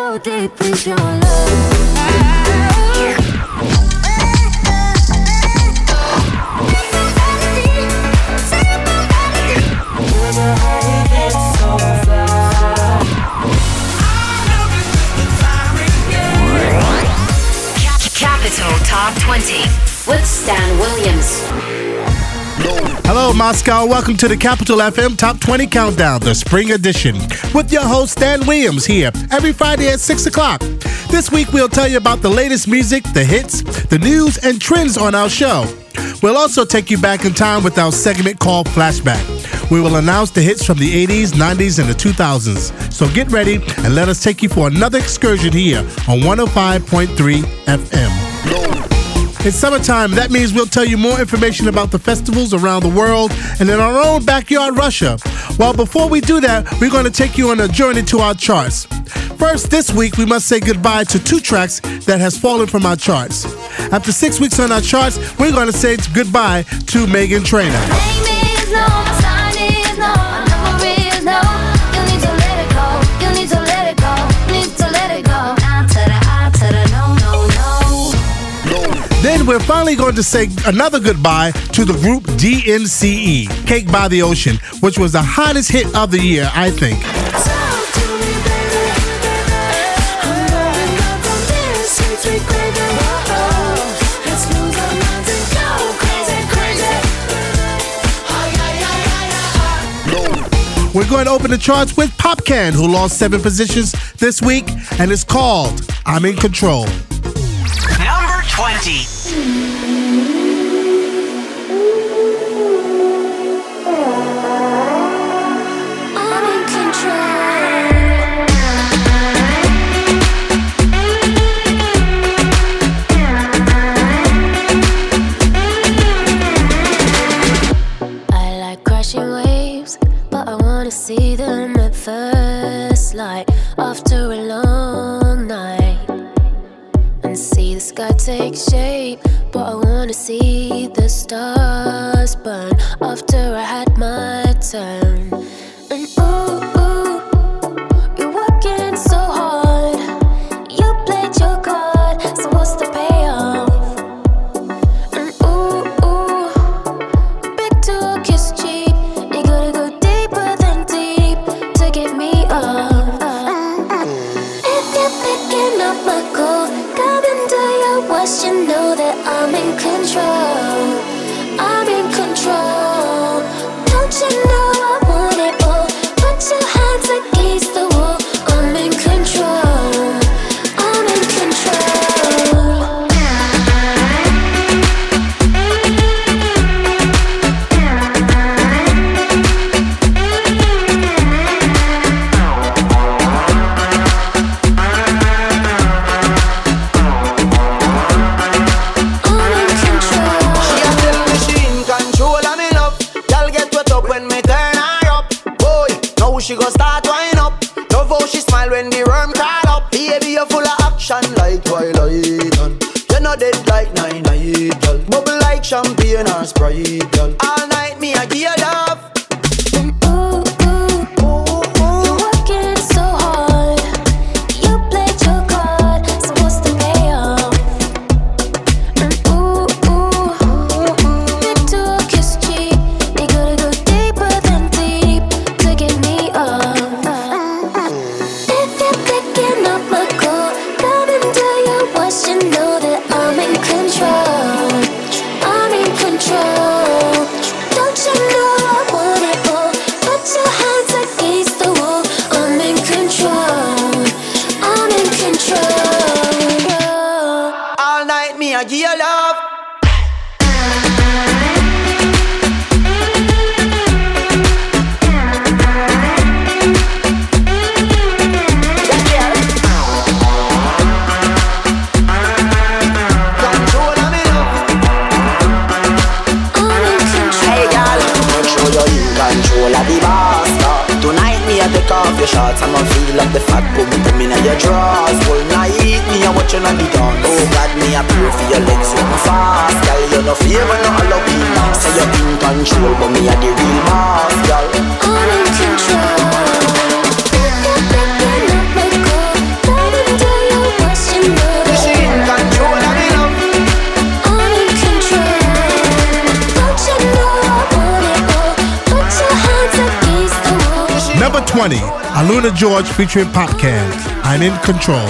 so deep into your love. Capital Top 20 with Stan Williams. Hello, Moscow. Welcome to the Capital FM Top 20 Countdown, the spring edition, with your host, Stan Williams, here every Friday at 6 o'clock. This week, we'll tell you about the latest music, the hits, the news, and trends on our show. We'll also take you back in time with our segment called Flashback. We will announce the hits from the 80s, 90s, and the 2000s. So get ready and let us take you for another excursion here on 105.3 FM. It's summertime. That means we'll tell you more information about the festivals around the world and in our own backyard, Russia. Well, before we do that, we're going to take you on a journey to our charts. First, this week, we must say goodbye to two tracks that has fallen from our charts. After 6 weeks on our charts, we're going to say goodbye to Meghan Trainor. Then we're finally going to say another goodbye to the group DNCE, Cake by the Ocean, which was the hottest hit of the year, I think. We're going to open the charts with Popcan, who lost 7 positions this week, and it's called I'm in Control. Number 20. See them at first light after a long night and see the sky take shape, but I wanna see the stars burn after I had my turn. And ooh, you're working so hard, you played your card, so what's the payoff? And ooh, big talk is cheap, you gotta go deeper than deep to get me up. If you're picking up my call, come and do your worst, you know that I'm in control. I'm in control. Don't you know I want it all? Put your hands against the wall. I'm in control. I'm in control. She gon' start wind up. Love how she smile when the worm call up. Baby, you're full of action like Twilight. You're not dead like 9-9, girl. Bubble like champagne or Sprite, girl. All night me I give you love. You're working so hard. You played your card, so what's the payoff? Big talk is cheap. You gotta go deeper than deep to get me up. If you're picking up my call, come and do your worst, you know that I'm in control. I'm in control. Don't you know I want it all? Put your hands against the wall. I'm in control. I'm in control. All night me I give you love. Take off your shorts, I'ma feel like the fat boom boom in your drawers. Whole night, me a watching on the dance. Oh God, me a pray for your legs so fast. Girl, you no favor, no Halloween. Say you're in control, but me a the real boss, girl. I'm in control. If you're picking up my call, come and 20, Aluna George featuring Popcans. I'm in control.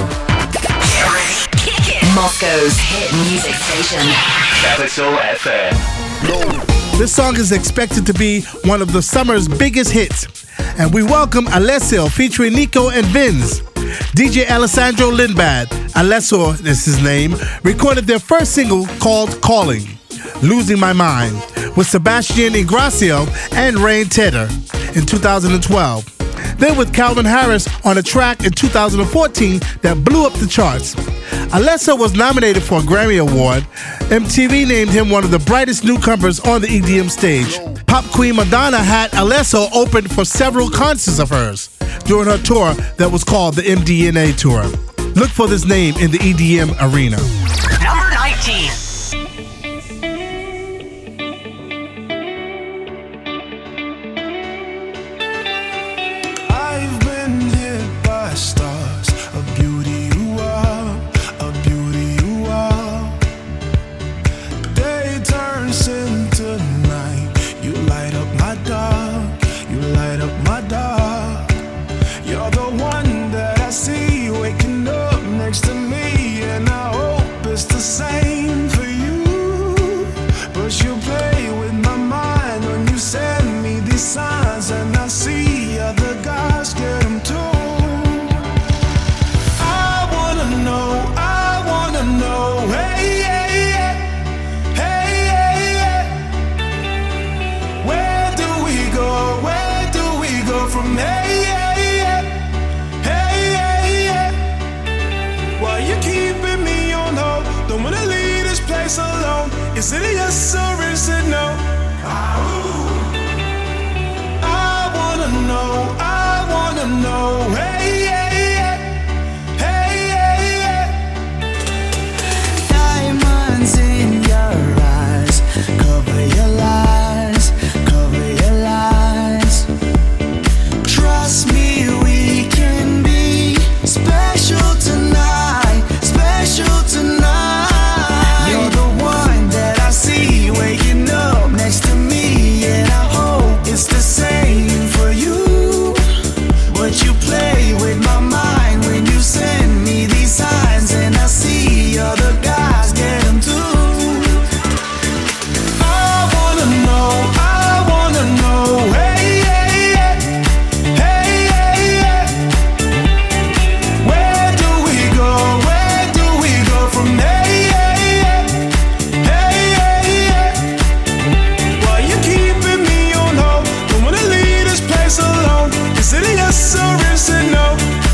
Moscow's hit music station. Capital FM. This song is expected to be one of the summer's biggest hits. And we welcome Alessio featuring Nico and Vinz. DJ Alessandro Lindbad, Alessio is his name, recorded their first single called Calling, Losing My Mind, with Sebastian Ingracio and Rain Tedder in 2012. Then with Calvin Harris on a track in 2014 that blew up the charts. Alessio was nominated for a Grammy Award. MTV named him one of the brightest newcomers on the EDM stage. Pop queen Madonna had Alessio open for several concerts of hers during her tour that was called the MDNA Tour. Look for this name in the EDM arena. Number 19. Is it a yes or is it no? I wanna know, hey, Diamonds in your eyes, cover your lies, Trust me, we can be special tonight, You're the one that I see waking up next to me, and I hope it's the same for you. But you play with my mind when you send me these signs, and I see other guys get them too. I wanna know, hey, where do we go from there? Is it a yes or is it no?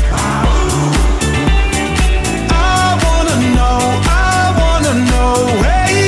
I wanna know, hey,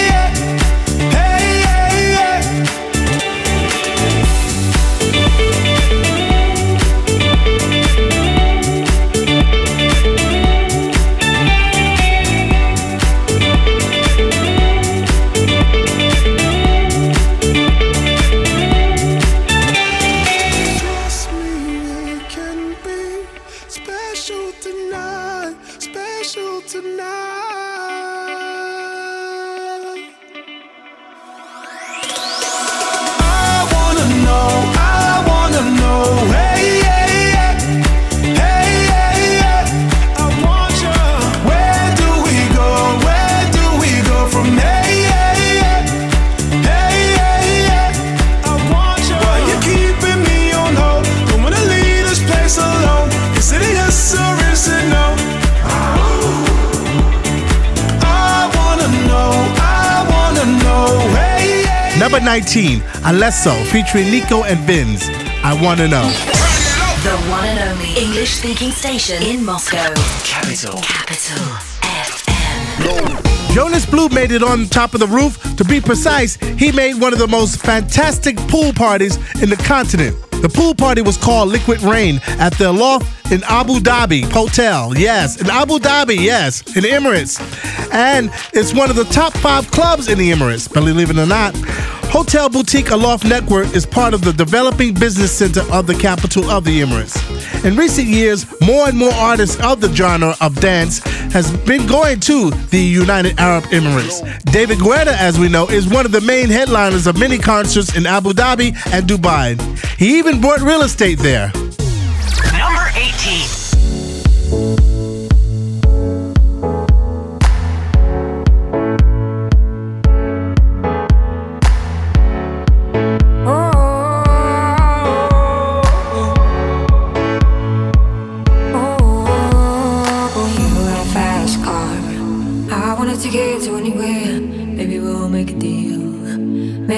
Number 19, Alessio featuring Nico and Vinz, I Wanna Know. The one and only English-speaking station in Moscow. Capital FM. Jonas Blue made it on top of the roof. To be precise, he made one of the most fantastic pool parties in the continent. The pool party was called Liquid Rain at the Loft in Abu Dhabi Hotel. Yes, in Abu Dhabi, yes, in the Emirates. And it's one of the top 5 clubs in the Emirates, believe it or not. Hotel Boutique Aloft Network is part of the developing business center of the capital of the Emirates. In recent years, more and more artists of the genre of dance has been going to the United Arab Emirates. David Guetta, as we know, is one of the main headliners of many concerts in Abu Dhabi and Dubai. He even bought real estate there.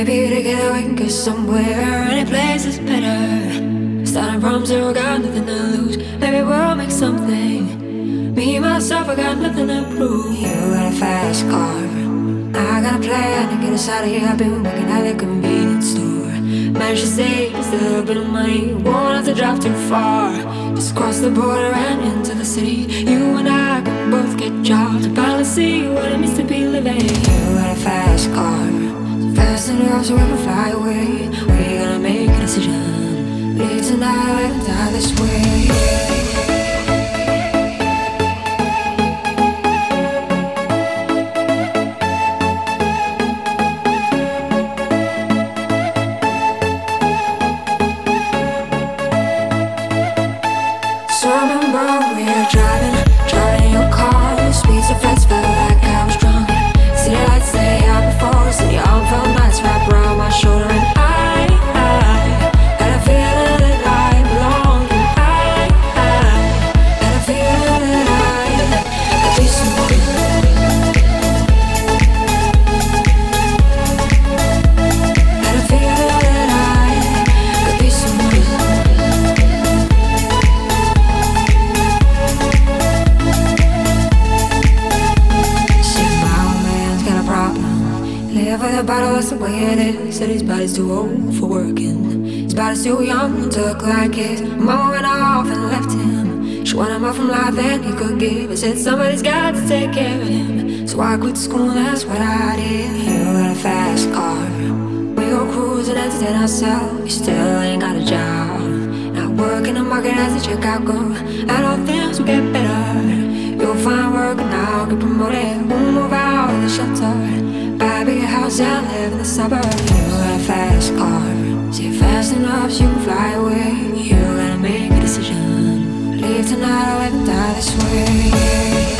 Maybe together we can get somewhere. Any place is better. Starting from zero, got nothing to lose. Maybe we'll make something. Me, myself, I got nothing to prove. You got a fast car, I got a plan to get us out of here. I've been working at the convenience store. Managed to save just a little bit of money. Won't have to drive too far. Just cross the border and into the city. You and I can both get jobs to finally see what it means to be living. You got a fast car, so fast enough so we can fly away. We're gonna make a decision. Live tonight or let die this way. Said his body's too old for working. His body's too young to look like his mama went off and left him. She wanted more from life than he could give. I said somebody's got to take care of him. So I quit school, that's what I did. You got a fast car, we go cruising and entertain ourselves. You still ain't got a job, not working the market as a checkout girl. I know things will get better. You'll find work and I'll get promoted. We'll move out of the shelter, buy a bigger house and live in the suburbs. You got a fast car, see fast enough so you can fly away. You gotta make a decision. Leave tonight or let me die this way.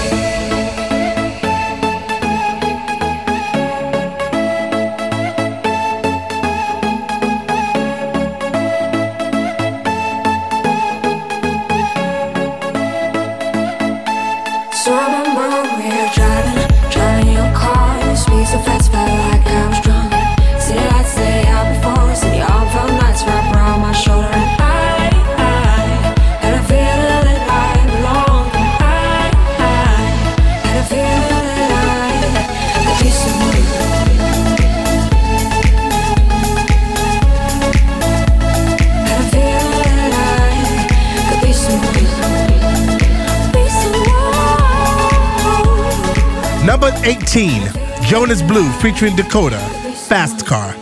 Number 18, Jonas Blue featuring Dakota, Fast Car.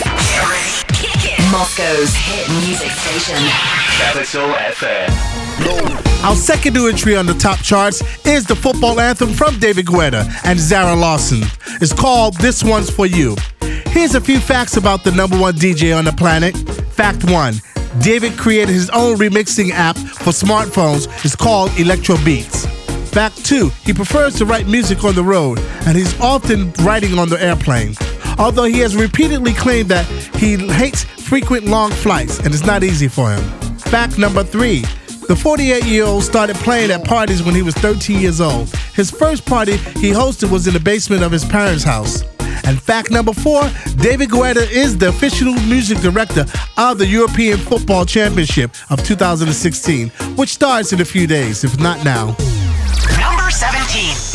Moscow's hit music station. Capital FM. Our second new entry on the top charts is the football anthem from David Guetta and Zara Larsson. It's called This One's For You. Here's a few facts about the number one DJ on the planet. Fact 1, David created his own remixing app for smartphones. It's called Electro Beats. Fact 2, he prefers to write music on the road, and he's often writing on the airplane. Although he has repeatedly claimed that he hates frequent long flights, and it's not easy for him. Fact number 3, the 48-year-old started playing at parties when he was 13 years old. His first party he hosted was in the basement of his parents' house. And fact number 4, David Guetta is the official music director of the European Football Championship of 2016, which starts in a few days, if not now. Number 17.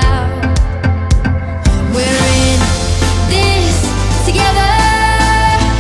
Together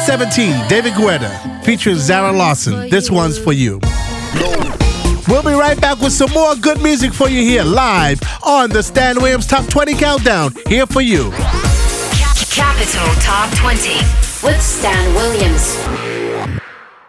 17, David Guetta, featuring Zara Larson. This one's for you. We'll be right back with some more good music for you here live on the Stan Williams Top 20 Countdown. Here for you. Capital Top 20 with Stan Williams.